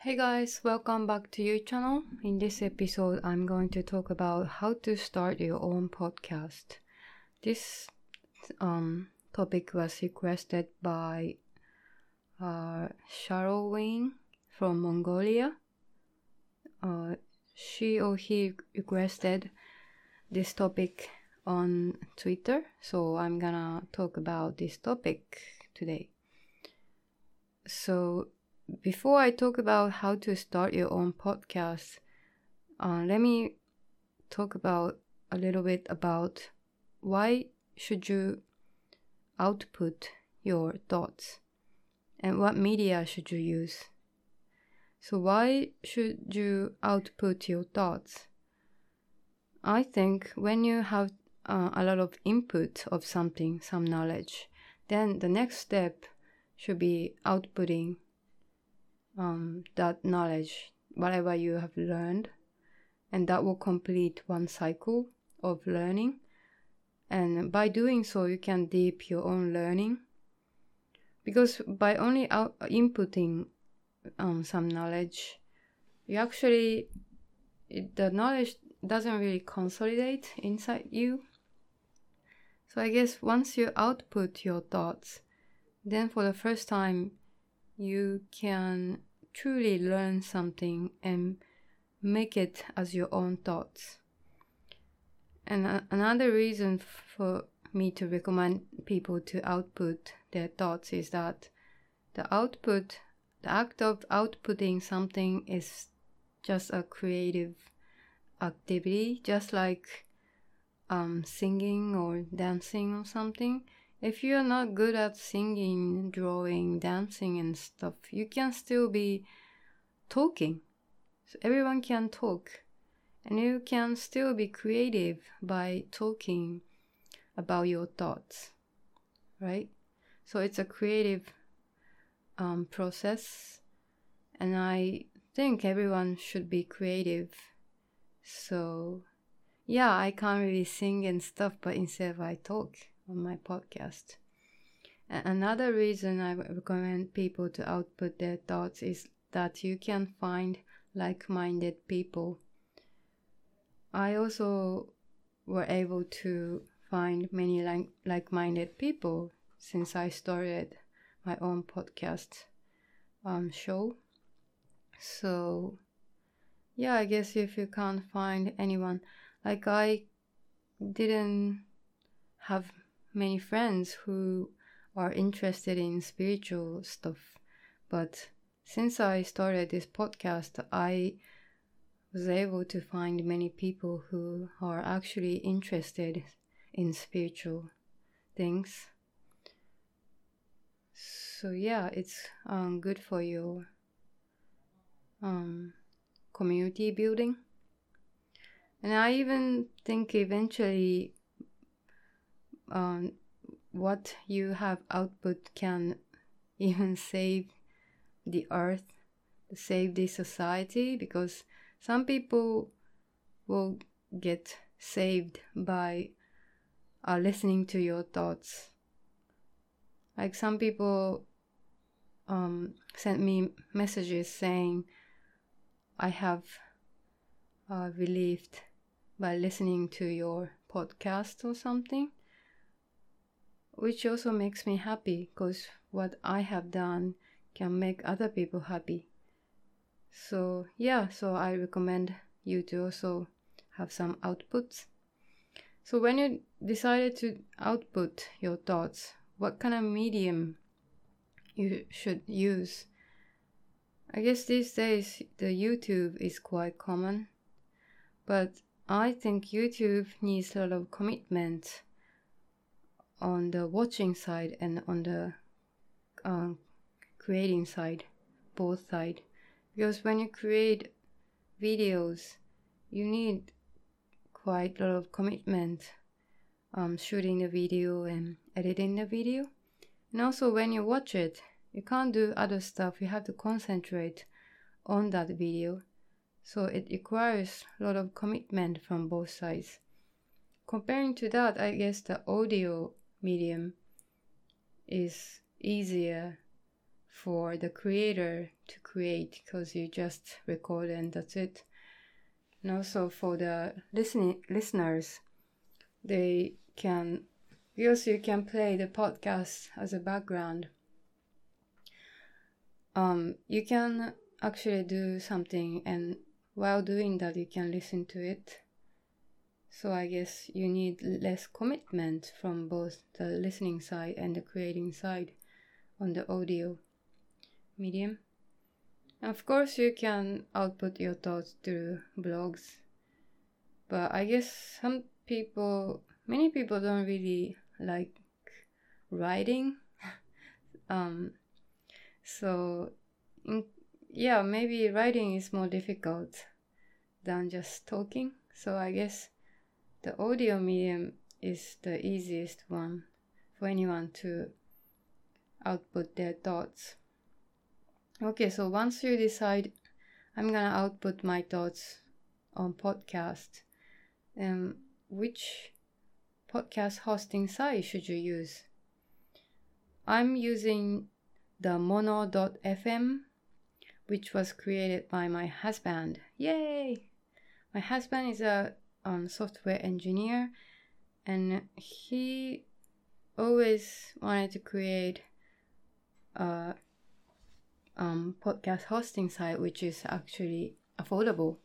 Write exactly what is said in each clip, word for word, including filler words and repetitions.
Hey guys, welcome back to your channel. In this episode, I'm going to talk about how to start your own podcast. This um, topic was requested by uh, Cheryl Wing from Mongolia. Uh, she or he requested this topic on Twitter, so I'm gonna talk about this topic today. So before I talk about how to start your own podcast, uh, let me talk about a little bit about why should you output your thoughts and what media should you use. So why should you output your thoughts? I think when you have uh, a lot of input of something, some knowledge, then the next step should be outputting Um, that knowledge, whatever you have learned, and that will complete one cycle of learning. And by doing so, you can deep your own learning, because by only out- inputting um, some knowledge, you actually it, the knowledge doesn't really consolidate inside you. So I guess once you output your thoughts, then for the first time you can truly learn something and make it as your own thoughts. And a- another reason for me to recommend people to output their thoughts is that the output, the act of outputting something is just a creative activity, just like um, singing or dancing or something. If you're not good at singing, drawing, dancing and stuff, you can still be talking. So everyone can talk. And you can still be creative by talking about your thoughts, right? So it's a creative um, process. And I think everyone should be creative. So yeah, I can't really sing and stuff, but instead I talk on my podcast. Another reason I recommend people to output their thoughts is that you can find like-minded people. I also were able to find many like- like-minded people since I started my own podcast um, show. So yeah, I guess if you can't find anyone, like I didn't have many friends who are interested in spiritual stuff, but since I started this podcast, I was able to find many people who are actually interested in spiritual things. So yeah, it's um, good for your um, community building. And I even think eventually um, what you have output can even save the earth, save the society, because some people will get saved by uh, listening to your thoughts. Like some people um, sent me messages saying, I have uh, relieved by listening to your podcast or something, which also makes me happy because what I have done can make other people happy. So yeah, so I recommend you to also have some outputs. So when you decided to output your thoughts, what kind of medium you should use? I guess these days the YouTube is quite common, but I think YouTube needs a lot of commitment on the watching side and on the uh, creating side, both side. Because when you create videos, you need quite a lot of commitment, um, shooting the video and editing the video. And also when you watch it, you can't do other stuff. You have to concentrate on that video. So it requires a lot of commitment from both sides. Comparing to that, I guess the audio medium is easier for the creator to create, because you just record and that's it. And also for the listening listeners, they can, because you can play the podcast as a background. Um, you can actually do something, and while doing that, you can listen to it. So I guess you need less commitment from both the listening side and the creating side on the audio medium. And of course, you can output your thoughts through blogs, but I guess some people, many people don't really like writing. um, so in, yeah, maybe writing is more difficult than just talking. So I guess the audio medium is the easiest one for anyone to output their thoughts. Okay, so once you decide, I'm gonna output my thoughts on podcast, um, which podcast hosting site should you use? I'm using the mono dot f m, which was created by my husband. Yay! My husband is a um, software engineer, and he always wanted to create a um, podcast hosting site which is actually affordable.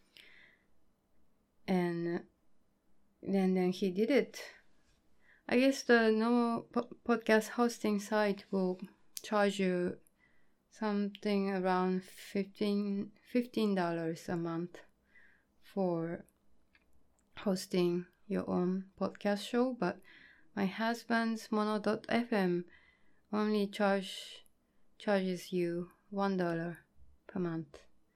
And then, then he did it. I guess the normal po- podcast hosting site will charge you something around fifteen dollars a month for hosting your own podcast show, but my husband's mono dot f m only charge charges you one dollar per month.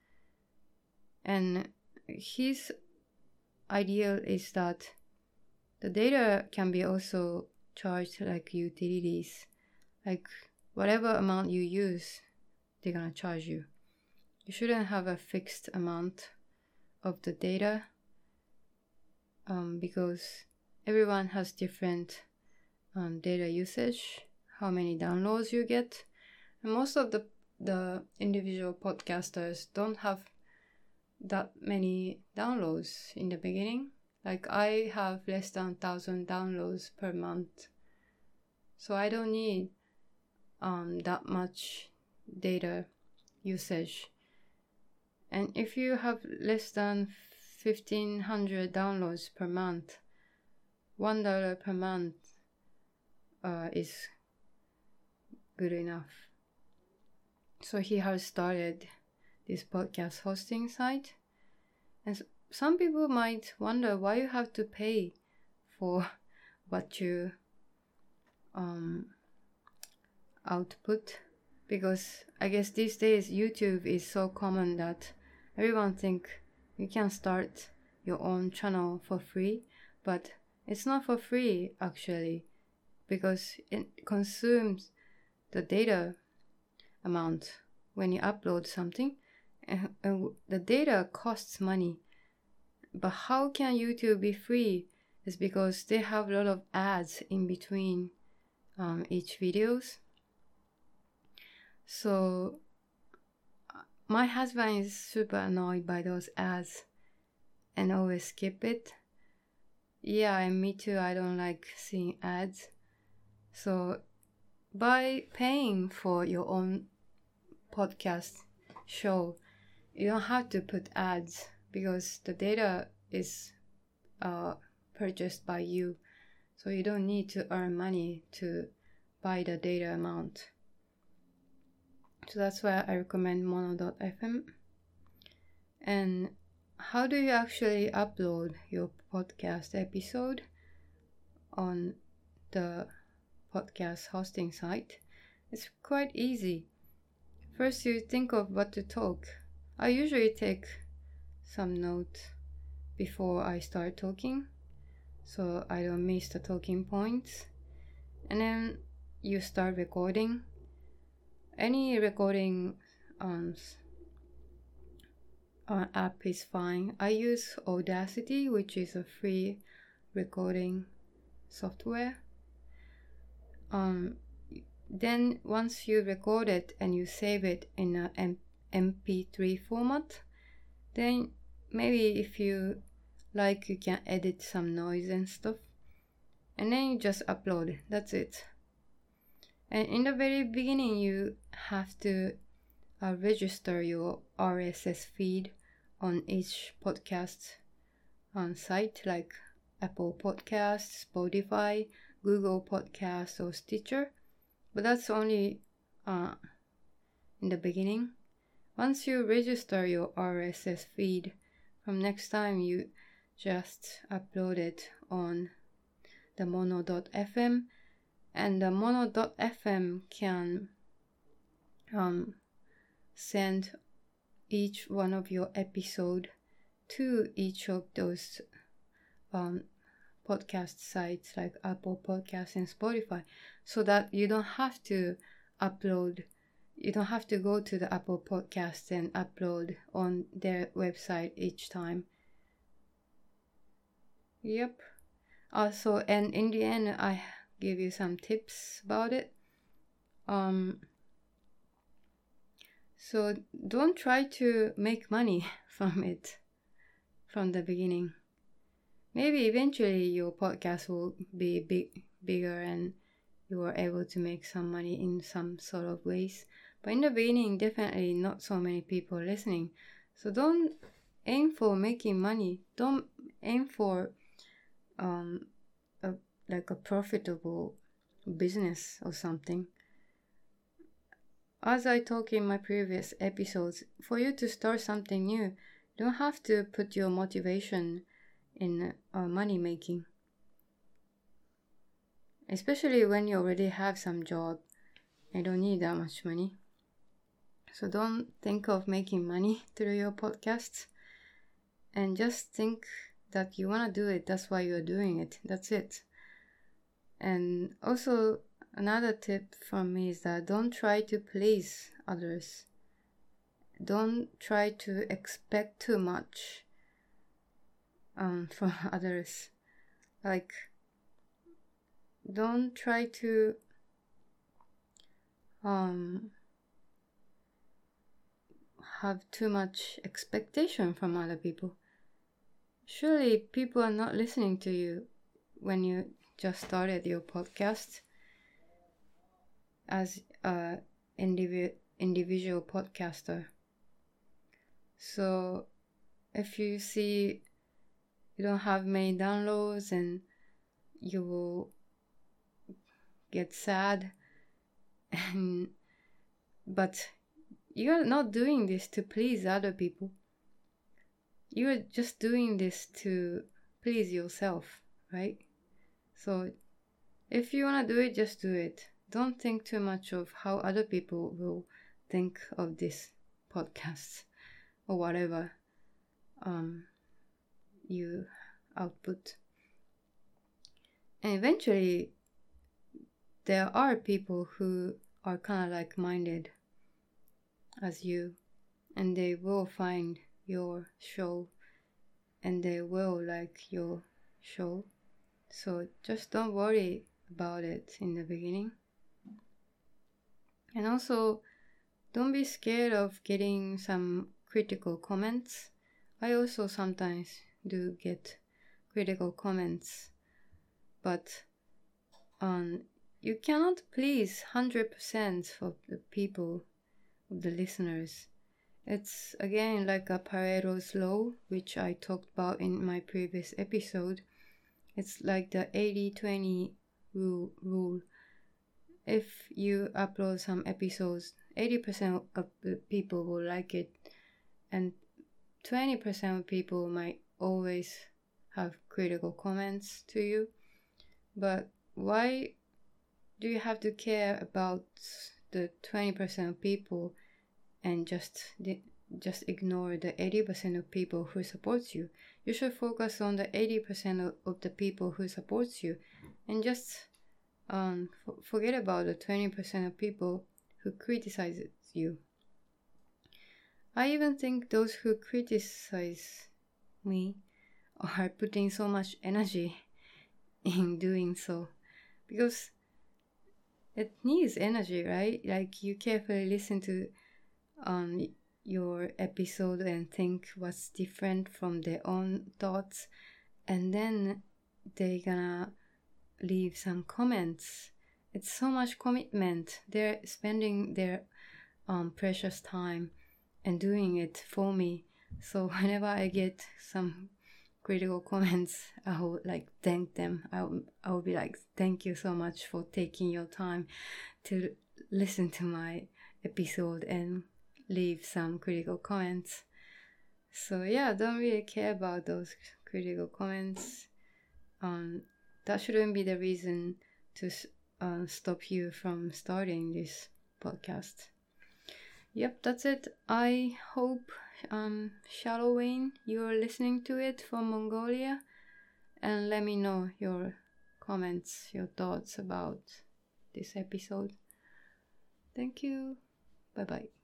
And his ideal is that the data can be also charged like utilities, like whatever amount you use, they're gonna charge you. You shouldn't have a fixed amount of the data, um, because everyone has different um, data usage, how many downloads you get. And most of the, the individual podcasters don't have that many downloads in the beginning. Like I have less than one thousand downloads per month. So I don't need um, that much data usage. And if you have less than fifteen hundred downloads per month, one dollar per month uh, is good enough. So he has started this podcast hosting site. And some people might wonder why you have to pay for what you um, output, because I guess these days YouTube is so common that everyone think you can start your own channel for free, but it's not for free actually, because it consumes the data amount when you upload something, and, and the data costs money. But how can YouTube be free? Is because they have a lot of ads in between um, each videos. So my husband is super annoyed by those ads and always skip it. Yeah, and me too, I don't like seeing ads. So by paying for your own podcast show, you don't have to put ads, because the data is uh, purchased by you. So you don't need to earn money to buy the data amount. So that's why I recommend mono dot f m. And how do you actually upload your podcast episode on the podcast hosting site? It's quite easy. First, you think of what to talk. I usually take some notes before I start talking, so I don't miss the talking points. And then you start recording. Any recording um, uh, app is fine. I use Audacity, which is a free recording software. Um, then once you record it and you save it in a M- MP3 format, then maybe if you like, you can edit some noise and stuff, and then you just upload it. That's it. And in the very beginning, you have to uh, register your R S S feed on each podcast on site, like Apple Podcasts, Spotify, Google Podcasts, or Stitcher. But that's only uh, in the beginning. Once you register your R S S feed, from next time you just upload it on the mono dot f m, and the mono dot f m can um, send each one of your episode to each of those um, podcast sites like Apple Podcasts and Spotify, so that you don't have to upload, you don't have to go to the Apple Podcasts and upload on their website each time. Yep. Also, and in the end, I give you some tips about it. Um, so don't try to make money from it from the beginning. Maybe eventually your podcast will be big, bigger and you are able to make some money in some sort of ways. But in the beginning, definitely not so many people listening. So don't aim for making money. Don't aim for um a, like a profitable business or something. As I talk in my previous episodes, for you to start something new, you don't have to put your motivation in uh, money making. Especially when you already have some job, you don't need that much money. So don't think of making money through your podcasts, and just think that you want to do it. That's why you're doing it. That's it. And also, another tip from me is that don't try to please others. Don't try to expect too much um, from others. Like, don't try to um, have too much expectation from other people. Surely people are not listening to you when you just started your podcast as a indivi- individual podcaster. So if you see you don't have many downloads, and you will get sad, and but you're not doing this to please other people. You're just doing this to please yourself, right? So if you want to do it, just do it. Don't think too much of how other people will think of this podcast or whatever um, you output. And eventually, there are people who are kind of like-minded as you, and they will find your show and they will like your show. So just don't worry about it in the beginning. And also, don't be scared of getting some critical comments. I also sometimes do get critical comments, but um, you cannot please one hundred percent of the people, of the listeners. It's again like a Pareto's law, which I talked about in my previous episode. It's like the eighty twenty rule. rule. If you upload some episodes, eighty percent of the people will like it, and twenty percent of people might always have critical comments to you. But why do you have to care about the twenty percent of people and just just ignore the eighty percent of people who supports you? You should focus on the eighty percent of, of the people who supports you, and just um, f- forget about the twenty percent of people who criticizes you. I even think those who criticize me are putting so much energy in doing so, because it needs energy, right? Like you carefully listen to um your episode and think what's different from their own thoughts, and then they gonna leave some comments. It's so much commitment. They're spending their um precious time and doing it for me. So whenever I get some critical comments, I will like thank them. I will, I will be like, thank you so much for taking your time to listen to my episode and leave some critical comments. So yeah, don't really care about those critical comments. Um, that shouldn't be the reason to uh, stop you from starting this podcast. Yep, that's it. I hope, um, Shallow Wayne, you're listening to it from Mongolia, and let me know your comments, your thoughts about this episode. Thank you. Bye bye.